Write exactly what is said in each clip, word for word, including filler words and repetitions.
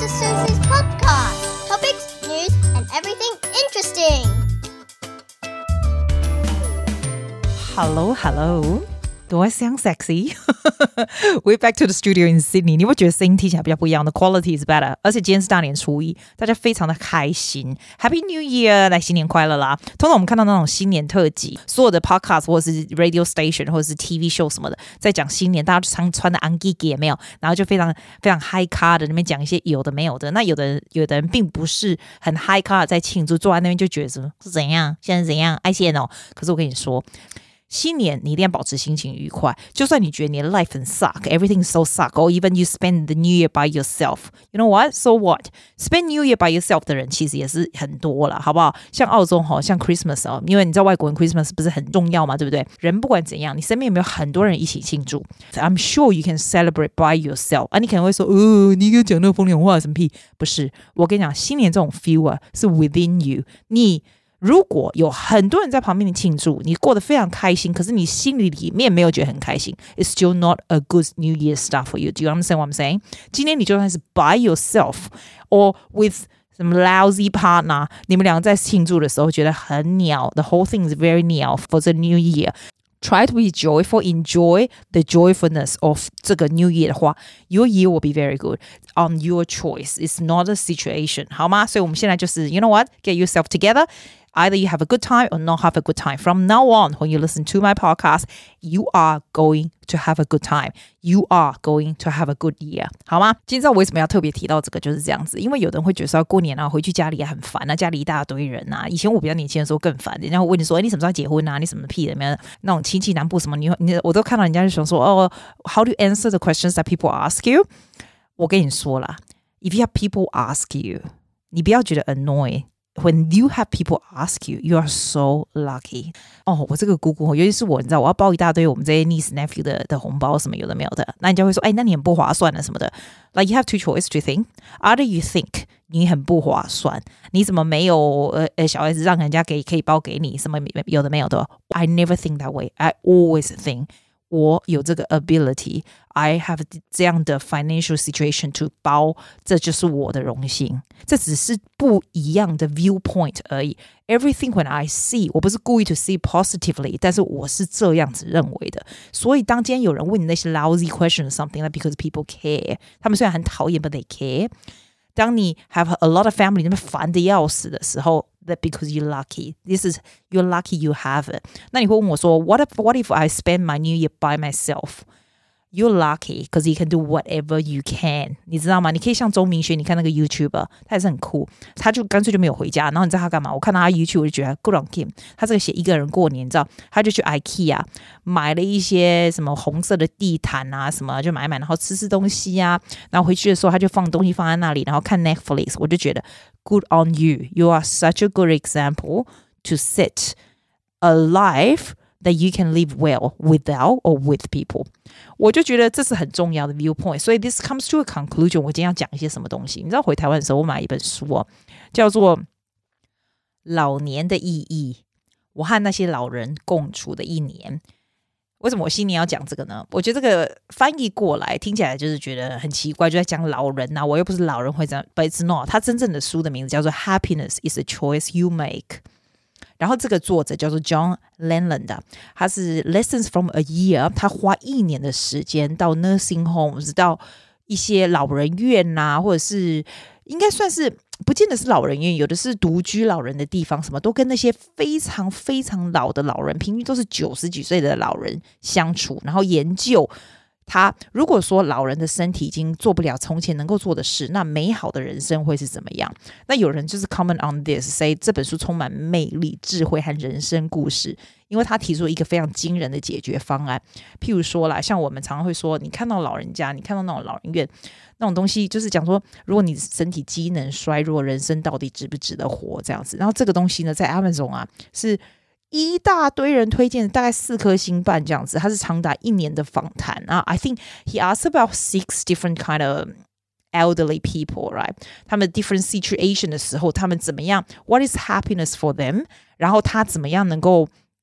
Missus Susie's podcast. Topics, news, and everything interesting. Hello, hello. Do I sound sexy? We're back to the studio in Sydney. 你会觉得声音听起来比較不一樣的 quality is better. 而且今天是大年初一，大家非常的開心。Happy New Year！ 來，新年快樂啦！通常我們看到那種新年特輯，所有的 podcast 或者是 radio station 或者是 T V show 什麼的，在講新年，大家就常穿的 angiki 有沒有？然後就非常非常 high car 的那邊講一些有的沒有的。那有的人有的人並不是很 high car 在慶祝，坐在那邊就覺得什麼是怎樣？現在怎樣？愛現哦！可是我跟你說。新年你一定要保持心情愉快，就算你覺得你的 life 很 suck, everything so suck, or even you spend the new year by yourself. You know what? So what? Spend new year by yourself 的人其實也是很多了，好不好？像澳洲像 Christmas 哦，因為你知道外國人 Christmas 不是很重要嘛，對不對？人不管怎樣，你身邊有沒有很多人一起慶祝？ I'm sure you can celebrate by yourself. 啊，你可能會說，呃，你給我講那個風涼話什麼屁？不是，我跟你講，新年這種 feel 啊，是 within you. 你如果有很多人在旁邊慶祝，你過得非常開心，可是你心裡裡面沒有覺得很開心 ，It's still not a good New Year start for you. Do you understand what I'm saying? 今天你就算是 by yourself or with some lousy partner， 你們兩個在慶祝的時候覺得很鳥 ，the whole thing is very 鳥 for the New Year.Try to be joyful, enjoy the joyfulness of 這個 New Year 的話 your year will be very good on your choice. It's not a situation. 好嗎？所以我們現在就是 you know what? Get yourself together. Either you have a good time or not have a good time. From now on, when you listen to my podcast, you are going to have a good time. You are going to have a good year. 好嗎？今天知道我為什麼要特別提到這個就是這樣子，因為有人會覺得說過年啊，回去家裡也很煩啊，家裡一大堆人啊。以前我比較年輕的時候更煩，人家會問你說，哎，你什麼時候結婚啊？你什麼屁的？沒有那種親戚南部什麼，你你我都看到人家就想說，哦 ，How do you answer the questions that people ask you？ 我跟你說啦 ，If you have people ask you， 你不要覺得 annoy。When you have people ask you, you are so lucky. 哦，我這個姑姑，尤其是我，你知道，我要包一大堆我們這些 niece nephew 的的紅包，什麼有的沒有的，那人家會說，哎，那你很不划算了什麼的。Like you have two choices to think. Either you think 你很不划算，你怎麼沒有呃呃小孩子讓人家給可以包給你，什麼有的沒有的。I never think that way. I always think.我有這個 ability, I have 這樣的 financial situation to 包，這就是我的榮幸。這只是不一樣的 viewpoint 而已。Everything when I see， 我不是故意 to see positively， 但是我是這樣子認為的。所以當今天有人問你那些 lousy questions something like because people care， 他們雖然很討厭 but they care。當你 have a lot of family 那邊煩得要死的時候，that because you're lucky. This is you're lucky you have it. 那你會問我說 what if, what if I spend my new year by myself? You're lucky because you can do whatever you can. 你知道嗎？你可以像周明軒，你看那個 YouTuber， 他也是很酷，他就乾脆就沒有回家。然後你知道他幹嘛？我看到他 YouTube 我就覺得 good on him。他這個寫一個人過年，你知道，他就去 IKEA 買了一些什麼紅色的地毯啊，什麼就買買，然後吃吃東西啊。然後回去的時候他就放東西放在那裡，然後看 Netflix。我就覺得 good on you. You are such a good example to set a life.That you can live well without or with people. 我就覺得這是很重要的 viewpoint. 所以 this comes to a conclusion. 我今天要講一些什麼東西？你知道回台灣的時候，我買一本書哦，叫做《老年的意義》。我和那些老人共處的一年。為什麼我新年要講這個呢？我覺得這個翻譯過來聽起來就是覺得很奇怪，就在講老人啊。我又不是老人會這樣 ，but it's not. 它真正的書的名字叫做《Happiness is a choice you make》。然後這個作者叫做 John Lennon 他是 Lessons from a Year， 他花一年的時間到 nursing homes， 到一些老人院啊，或者是應該算是不見得是老人院，有的是獨居老人的地方，什麼都跟那些非常非常老的老人，平均都是九十幾歲的老人相處，然後研究他如果說老人的身體已經做不了從前能夠做的事，那美好的人生會是怎麼樣？那有人就是 comment on this say 這本書充滿魅力、智慧和人生故事，因為他提出一個非常驚人的解決方案。譬如說啦，像我們常常會說，你看到老人家，你看到那種老人院那種東西，就是講說，如果你身體機能衰弱，人生到底值不值得活這樣子。然後這個東西呢，在 Amazon 啊是一大堆人推薦，大概四顆星半這樣子，它是長達一年的訪談啊。I think he asked about six different kind of elderly people, right? 他們 different situation 的時候，他們怎麼樣 ？What is happiness for them? 然後他怎麼樣能夠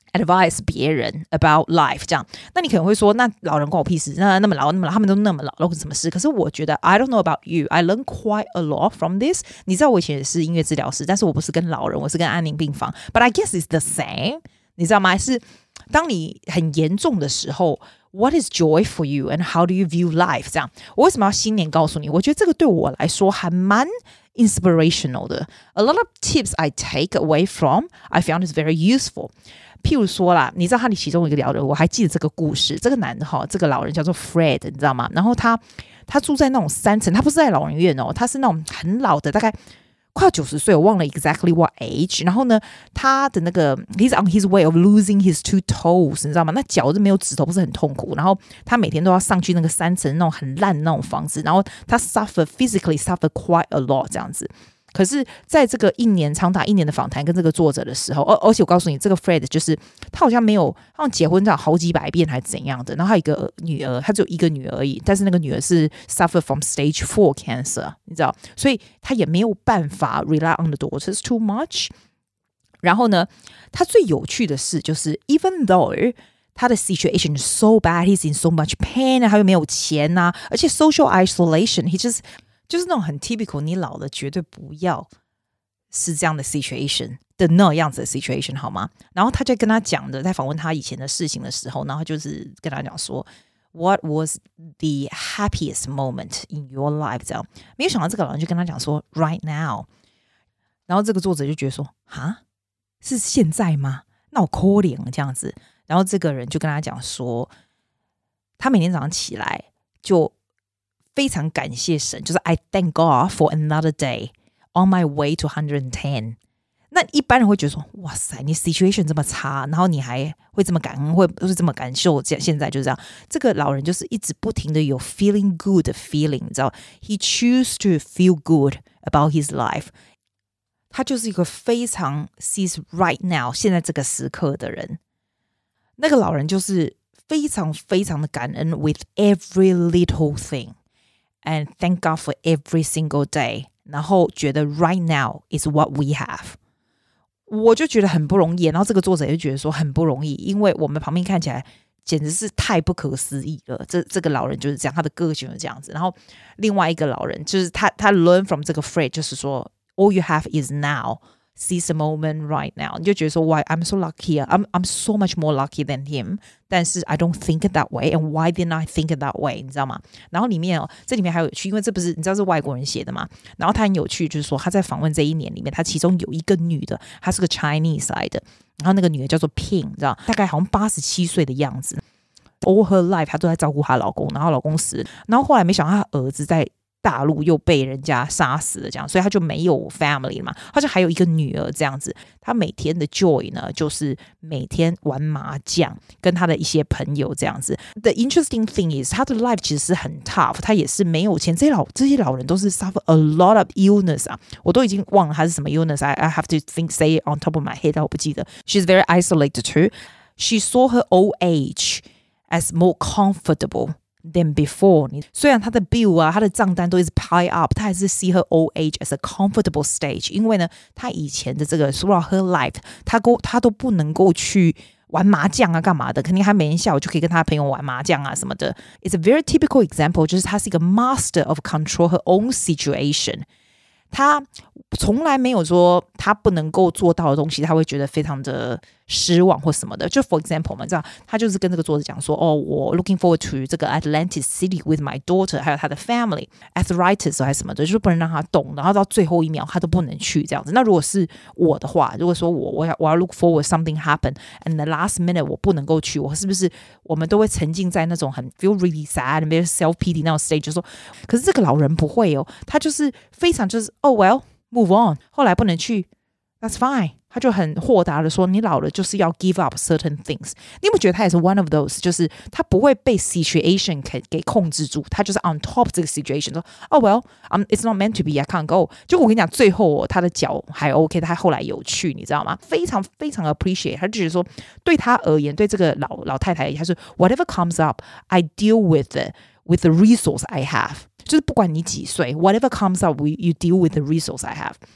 advise 別人 about life 這樣。那你可能會說，那老人關我屁事，那那麼老那麼老，他們都那麼老，有什麼事？可是我覺得 I don't know about you, I learned quite a lot from this。你知道我以前也是音樂治療師，但是我不是跟老人，我是跟安寧病房。But I guess it's the same， 你知道嗎？是當你很嚴重的時候。What is joy for you and how do you view life? 這樣，我為什麼要新年告訴你？我覺得這個對我來說還蠻 inspirational 的。A lot of tips I take away from, I found is very useful. 譬如說啦，你知道他的其中一個聊的，我還記得這個故事。這個男的哈，這個老人叫做 Fred， 你知道嗎？然後他他住在那種三層，他不是在老人院哦，他是那種很老的，大概。快要九十歲，我忘了 exactly what age。然後呢，他的那個 he's on his way of losing his two toes， 你知道嗎？那腳是沒有指頭，不是很痛苦。然後他每天都要上去那個三層那種很爛的那種房子，然後他 suffer physically suffer quite a lot 這樣子。可是在這個一年長達一年的訪談跟這個作者的時候，而而且我告訴你，這個 Fred 就是他好像沒有，好像結婚這樣好幾百遍還是怎樣的。然後他有一個女兒，他只有一個女兒而已，但是那個女兒是 suffer from stage four cancer， 你知道，所以他也沒有辦法 rely on the daughters too much。然後呢，他最有趣的是，就是 even though 他的 situation is so bad, he's in so much pain， 他又沒有錢啊，而且 social isolation，he just就是那種很 typical， 你老了絕對不要是這樣的 situation 的那樣子的 situation 好嗎？然後他就跟他講的，在訪問他以前的事情的時候，然後就是跟他講說 What was the happiest moment in your life？ 這樣，沒有想到這個老人就跟他講說 Right now。然後這個作者就覺得說哈，是現在嗎？那我可憐這樣子。然後這個人就跟他講說，他每天早上起來就非常感謝神，就是 I thank God for another day on my way to one hundred ten。 那一般人會覺得說哇塞，你 situation 這麼差，然後你還會這麼感恩，會是這麼感受，現在就是這樣。這個老人就是一直不停的有 feeling good 的 feeling， 你知道 He choose to feel good about his life。 他就是一個非常 sees right now 現在這個時刻的人。那個老人就是非常非常的感恩 with every little thing。And thank God for every single day. 然後覺得 right now is what we have. 我就覺得很不容易。然後這個作者也覺得說很不容易，因為我們旁邊看起來簡直是太不可思議了。這這個老人就是這樣，他的個性就是這樣子。然後另外一個老人就是他，他 learn from 這個 phrase， 就是說 all you have is now.Seize the moment right now， 你就覺得說 Why I'm so lucky, I'm I'm so much more lucky than him， 但是 I don't think it that way, and why didn't I think it that way？ 你知道嗎？然後裡面哦，這裡面還有趣，因為這不是你知道是外國人寫的嘛，然後他很有趣，就是說他在訪問這一年裡面，他其中有一個女的，她是個 Chinese 來的，然後那個女的叫做 Ping， 你知道，大概好像八十七歲的樣子 ，all her life 她都在照顧她老公，然後老公死了，然後後來沒想到她兒子在大陸又被人家殺死了，這樣，所以他就沒有 family 嘛，他就還有一個女兒這樣子。他每天的 joy 呢，就是每天玩麻將，跟他的一些朋友這樣子。The interesting thing is， 他的 life 其實是很 tough， 他也是沒有錢。這些老這些老人都是 suffer a lot of illness 啊，我都已經忘了他是什麼 illness。I I have to think say it on top of my head， 但我不記得。She's very isolated too. She saw her old age as more comfortable.than before， 你雖然他的 bill 啊，他的賬單都一直 pile up， 他還是 see her old age as a comfortable stage， 因為呢，他以前的這個 throughout her life， 他都他都不能夠去玩麻將啊，幹嘛的？肯定他每天下午就可以跟他的朋友玩麻將啊什麼的。It's a very typical example， 就是他是一個 master of control her own situation。他從來沒有說他不能夠做到的東西，他會覺得非常的失望或什麼的。就 for example 嘛，這樣他就是跟這個作者講說，哦，我 looking forward to 這個 Atlantic City with my daughter， 還有他的 family arthritis 還是什麼的，就是不能讓他動，然後到最後一秒他都不能去這樣子。那如果是我的話，如果說我我要我要 look forward something happen and the last minute 我不能夠去，我是不是我們都會沉浸在那種很 feel really sad and very self pity 那種 stage， 就說，可是這個老人不會哦，他就是非常就是哦 well move on， 後來不能去 that's fine， 他就很豁達的說，你老了就是要 give up certain things。 你有沒有覺得他也是 one of those， 就是他不會被 situation 給給控制住，他就是 on top 這個 situation， 說哦 well um, it's not meant to be I can't go。 就我跟你講，最後、哦、他的腳還 OK， 他後來有去，你知道嗎？非常非常 appreciate， 他就覺得說對他而言，對這個老老太太，他說 whatever comes up I deal with it with the resource I have， 就是不管你幾歲 whatever comes up you deal with the resource I have。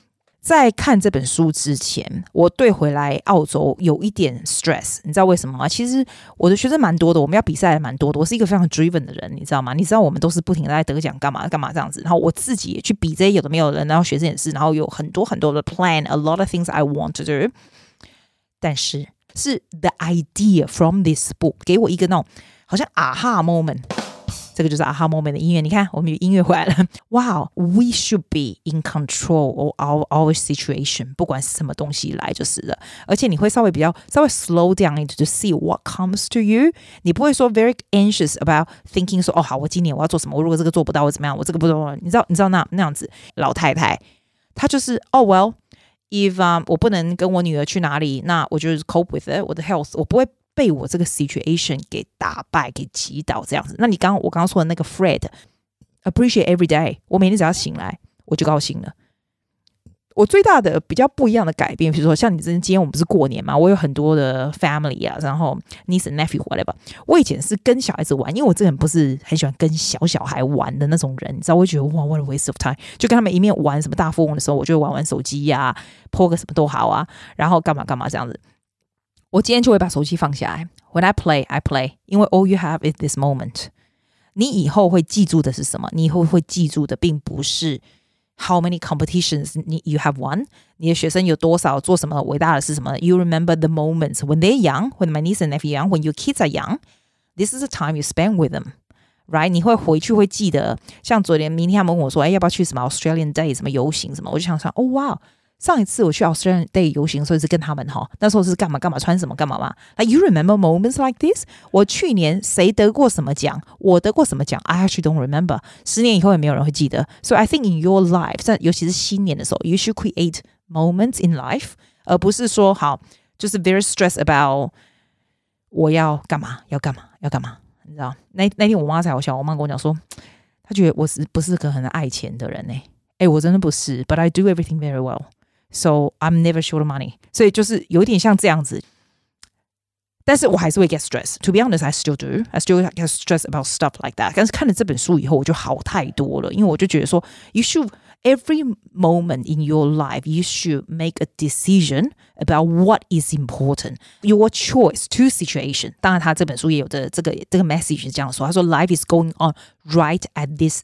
在看這本書之前，我對回來澳洲有一點 stress， 你知道為什麼嗎？其實我的學生蠻多的，我們要比賽還蠻多的。我是一個非常 driven 的人，你知道嗎？你知道我們都是不停的在得獎，幹嘛幹嘛這樣子。然後我自己也去比這些有的沒有的人，然後學生也是，然後有很多很多的 plan，a lot of things I want to do。但是是 the idea from this book 給我一個那種好像 aha moment。這個就是 aha moment 的音樂，你看我們有音樂回來了。Wow, we should be in control of our, our situation， 不管是什麼東西來就是了。而且你會稍微比較稍微 slow down into to see what comes to you， 你不會說 very anxious about thinking 說哦好，我今年我要做什麼，我如果這個做不到我怎麼樣，我這個不做，你知道你知道那那樣子老太太她就是哦 well if、um, 我不能跟我女兒去哪裡，那我就 cope with it， 我的 health 我不會被我這個 situation 給打敗給擊倒這樣子。那你剛剛我剛剛說的那個 Fred appreciate every day， 我每天只要醒來我就高興了。我最大的比較不一樣的改變，比如說像你今天我們不是過年嘛，我有很多的 family 啊，然後 niece and nephew whatever。我以前是跟小孩子玩，因為我这个人不是很喜歡跟小小孩玩的那種人，你知道，我會覺得哇 what a waste of time， 就跟他們一面玩什麼大富翁的時候，我就玩玩手機呀、啊，po個什麼都好啊，然後幹嘛幹嘛這樣子。我今天就會把手機放下來。When I play, I play. 因為 all you have is this moment. 你以後會記住的是什麼？你以後會記住的並不是 how many competitions you have won. 你的學生有多少做什麼偉大的事什麼 You remember the moments when they're young, when my niece and nephew young, when your kids are young. This is the time you spend with them. Right? 你會回去會記得，像昨天明天他們問我說，哎，要不要去什麼 Australian Day 什麼遊行什麼？我就想說，哦哇。上一次我去 Australian Day 遊行，所以是跟他們哈，那時候是幹嘛幹嘛穿什麼幹嘛嘛。Like you remember moments like this？ 我去年誰得過什麼獎？我得過什麼獎 ？I actually don't remember。十年以後也沒有人會記得。So I think in your life， 在尤其是新年的時候 ，you should create moments in life， 而不是說好就是 very stressed about 我要幹嘛要幹嘛要幹嘛。你知道？那那天我媽才好笑，我媽跟我講說，她覺得我是不是個很愛錢的人呢？哎，我真的不是 ，but I do everything very well。So I'm never short of money. 所以就是有點像這樣子，但是我還是會 get stressed. To be honest, I still do. I still get stressed about stuff like that. 但是看了這本書以後，我就好太多了，因為我就覺得說 you should every moment in your life you should make a decision about what is important. Your choice to situation. 當然，他這本書也有的這個這個 message 是這樣說，他說 life is going on right at this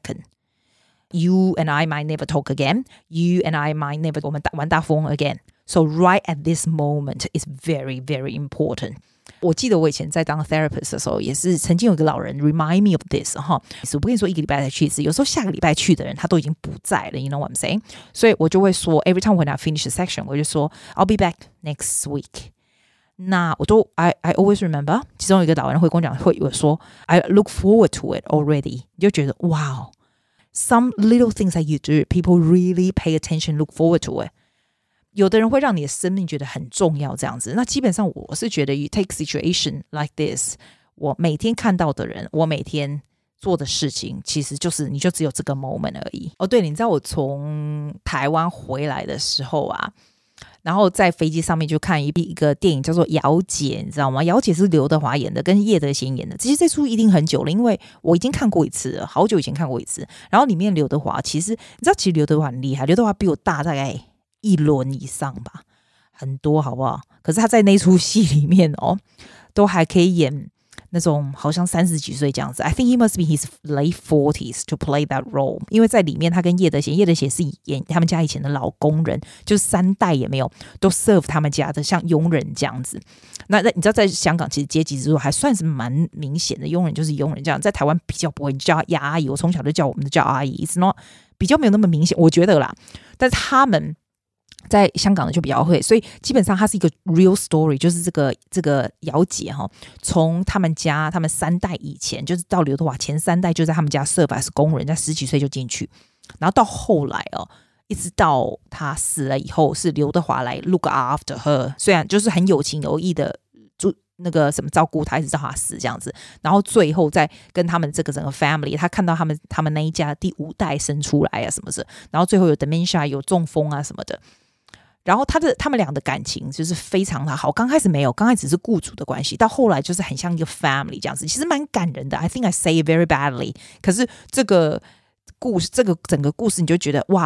second.You and I might never talk again. You and I might never 我們玩大富翁 again. So right at this moment is very, very important. 我記得我以前在當 therapist 的時候，也是曾經有一個老人 remind me of this 哈。我不跟你說一個禮拜才去一次，有時候下個禮拜去的人他都已經不在了。You know what I'm saying? 所以我就會說 every time when I finish a section， 我就說 I'll be back next week. 那我都 I I always remember。其中有一個老人會跟我講，會有說 I look forward to it already。你就覺得哇。Some little things that you do, people really pay attention, look forward to it. 有的人會讓你的生命覺得很重要，這樣子。那基本上我是覺得 you take situation like this, 我每天看到的人，我每天做的事情，其實就是你就只有這個 moment 而已。哦，對，你知道我從台灣回來的時候啊，然後在飛機上面就看一一個電影叫做《姚姐》，你知道嗎？姚姐是劉德華演的，跟葉德嫻演的。其實這出一定很久了，因為我已經看過一次了，好久以前看過一次。然後裡面劉德華，其實你知道，其實劉德華很厲害，劉德華比我大大概一輪以上吧，很多好不好？可是他在那出戲裡面哦，都還可以演那種好像三十幾歲這樣子。I think he must be his late forties to play that role。因為在裡面他跟葉德嫻，葉德嫻是演他們家以前的老工人，就是三代也沒有都 serve 他們家的像傭人這樣子。那那你知道在香港其實階級制度還算是蠻明顯的，傭人就是傭人這樣。在台灣比較不會，你叫他亞阿姨，我從小就叫我們的叫阿姨 ，It's not 比較沒有那麼明顯，我覺得啦。但是他們在香港的就比較會，所以基本上它是一個 real story， 就是這個這個姚姐哈，從他們家他們三代以前，就是到劉德華前三代就在他們家serve as工人，在十幾歲就進去，然後到後來哦，一直到他死了以後，是劉德華來 look after her， 雖然就是很有情有義的就那個什麼照顧他，一直到他死這樣子，然後最後再跟他們這個整個 family， 他看到他們他們那一家第五代生出來啊什麼的，然後最後有 dementia 有中風啊什麼的。然後他的他們倆的感情就是非常的好，剛開始沒有，剛開始是雇主的關係，到後來就是很像一個 family 這樣子，其實蠻感人的。I think I say it very badly， 可是這個故事，這個整個故事你就覺得哇，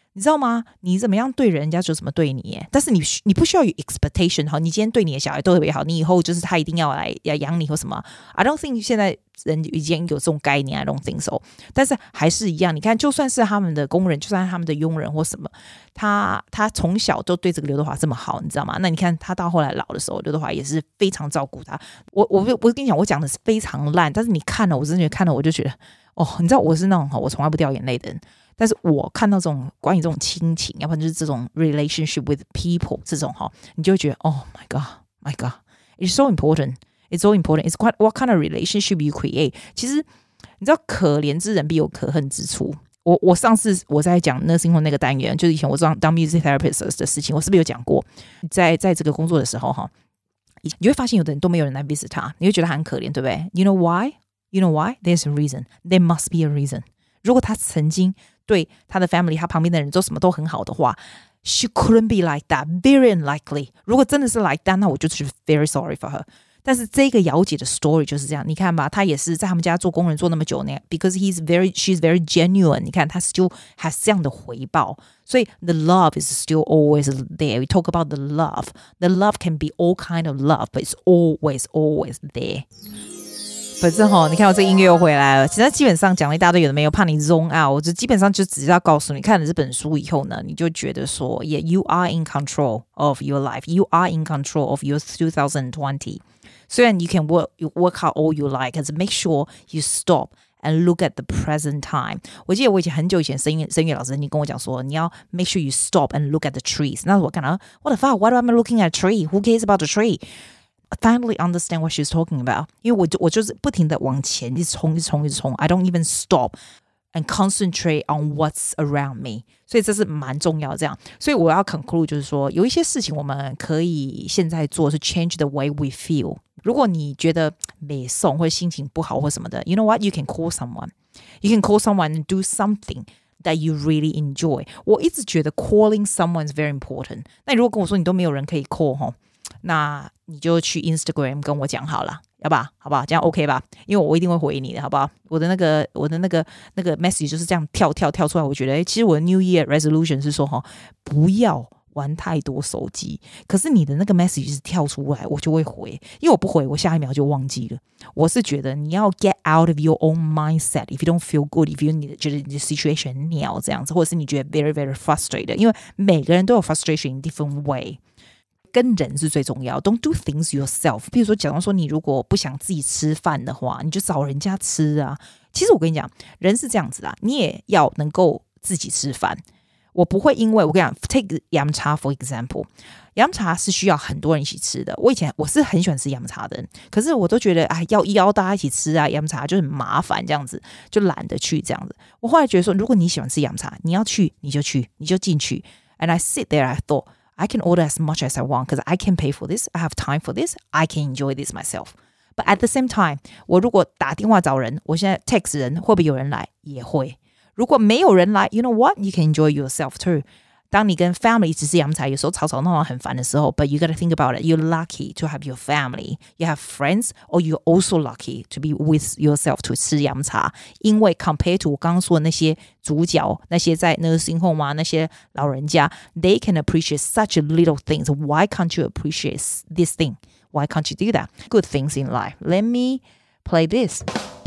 你知道嗎？你怎麼樣對人家就怎麼對你耶，但是你你不需要有 expectation。好，你今天對你的小孩都特別好，你以後就是他一定要來要養你或什麼。I don't think 現在人已經有這種概念 ，I don't think so。但是還是一樣，你看，就算是他們的工人，就算是他們的傭人或什麼，他他從小都對這個劉德華這麼好，你知道嗎？那你看他到後來老的時候，劉德華也是非常照顧他。我我我跟你講，我講的是非常爛，但是你看了，我真的覺得看了我就覺得，哦，你知道我是那種我從來不掉眼淚的人。但是我看到這種關於這種親情，要不然就是這種 relationship with people 這種哈，你就會覺得 Oh my God, my God, it's so important, it's so important. It's quite what kind of relationship you create. 其實你知道，可憐之人必有可恨之處。我我上次我在講 nursing home 那個單元，就是以前我當當 music therapist 的事情，我是不是有講過？在在這個工作的時候哈，你會發現有的人都沒有人來 visit 他，你會覺得他很可憐，對不對 ？You know why? You know why? There's a reason. There must be a reason. 如果他曾經對他的 family 他旁邊的人都什麼都很好的話， she couldn't be like that, very unlikely. 如果真的是 like that， 那我就是 very sorry for her。 但是這個姚姐的 story 就是這樣，你看吧，她也是在他們家做工人做那麼久呢， because he's very, she's very genuine。 你看她 still has 這樣的回報，所以 the love is still always there. We talk about the love. The love can be all kind of love, but it's always, always there。反正齁，你看我這音樂又回來了。其實基本上講了一大堆有的沒有，怕你 zone out， 我就基本上就只是要告訴你，看了這本書以後呢，你就覺得說 yeah, you are in control of your life. You are in control of your twenty twenty. 雖然 you can work, you work out all you like, 可是 make sure you stop and look at the present time. 我記得我以前很久以前聲樂聲樂老師你跟我講說，你要 make sure you stop and look at the trees. 那我看到 what the fuck, why am I looking at a tree? Who cares about the tree?I finally understand what she's talking about. 因為我就我就是不停的往前一直衝一直衝一直衝 I don't even stop and concentrate on what's around me. 所以這是蠻重要的這樣。所以我要 conclude 就是說，有一些事情我們可以現在做是 change the way we feel. 如果你覺得沒送或者心情不好或什麼的 you know what? You can call someone. You can call someone and do something that you really enjoy. 我一直覺得 calling someone is very important. 那你如果跟我說你都沒有人可以 call 齁，那你就去 Instagram 跟我講好了，要吧？好不好？這樣 OK 吧？因為我一定會回你的，好不好？我的那個我的那個那個 message 就是這樣跳跳跳出來。我覺得，誒，其實我的 New Year resolution 是說，哈，不要玩太多手機。可是你的那個 message 是跳出來，我就會回，因為我不回，我下一秒就忘記了。我是覺得你要 get out of your own mindset. If you don't feel good, if you 你覺得你的 situation 很鳥這樣子，或者是你覺得 very very frustrated， 因為每個人都有 frustration in different way。跟人是最重要 Don't do things yourself。 比如說假如說你如果不想自己吃飯的話，你就找人家吃啊。其實我跟你講，人是這樣子啦，你也要能夠自己吃飯。我不會因為我跟你講 take 飲茶 for example， 飲茶是需要很多人一起吃的。我以前我是很喜歡吃飲茶的人，可是我都覺得哎，要邀大家一起吃啊，飲茶就很麻煩，這樣子就懶得去這樣子。我後來覺得說，如果你喜歡吃飲茶，你要去你就去，你就進去。And I sit there, I thought I can order as much as I want because I can pay for this. I have time for this. I can enjoy this myself. But at the same time, 我如果打電話找人，我現在 text 人，會不會有人來？也會。如果沒有人來 ，you know what? You can enjoy yourself too. 當你跟 family 一起吃飲茶，有時候吵吵鬧鬧很煩的時候 ，but you gotta think about it. You're lucky to have your family. You have friends, or you're also lucky to be with yourself to 吃飲茶。因為 compared to 我剛剛說的那些主角，那些在 nursing home 啊，那些老人家 ，they can appreciate such little things. Why can't you appreciate this thing? Why can't you do that? Good things in life. Let me play this.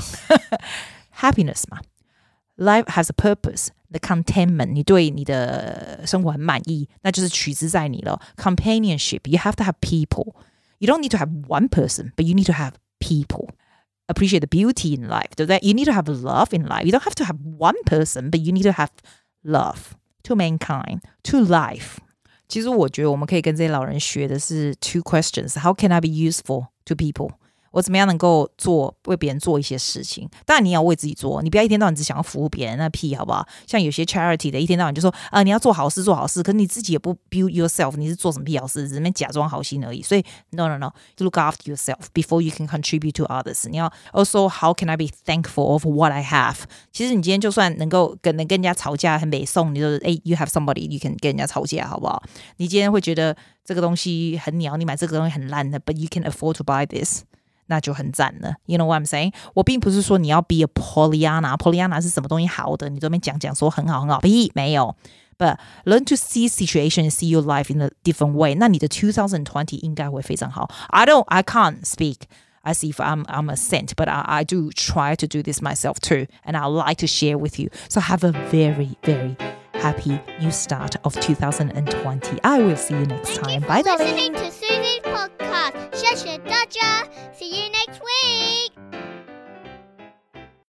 Happiness 嘛。Life has a purpose. The contentment, 你對你的生活很滿意，那就是取之在你了。Companionship, you have to have people. You don't need to have one person, but you need to have people. Appreciate the beauty in life, 對不對？ You need to have love in life. You don't have to have one person, but you need to have love to mankind, to life. 其實我覺得我們可以跟這些老人學的是 two questions. How can I be useful to people?我怎麼樣能夠做為別人做一些事情？當然你要為自己做，你不要一天到晚只想要服務別人，那屁好不好？像有些 charity 的一天到晚就說啊、呃，你要做好事做好事，可是你自己也不 build yourself， 你是做什麼屁好事？只是那邊假裝好心而已。所以 no no no， look after yourself before you can contribute to others。你要 also how can I be thankful of what I have？ 其實你今天就算能夠跟能跟人家吵架很美送，你就是哎 you have somebody you can 跟人家吵架好不好？你今天會覺得這個東西很鳥，你買這個東西很爛的 ，but you can afford to buy this。那就很讚了 ，You know what I'm saying？ 我並不是說你要 be a Pollyanna，Pollyanna 是什麼東西好的，你都沒講講說很好很好，屁沒有。 But learn to see situation and see your life in a different way. 那你的twenty twenty 應該會非常好。I don't, I can't speak as if I'm, I'm a saint, but I, I do try to do this myself too. And I like to share with you. So have a very, very happy new start of twenty twenty. I will see you next time. Thank Bye, you for darling. listening to Susie's podcast. 謝謝大家. See you next week.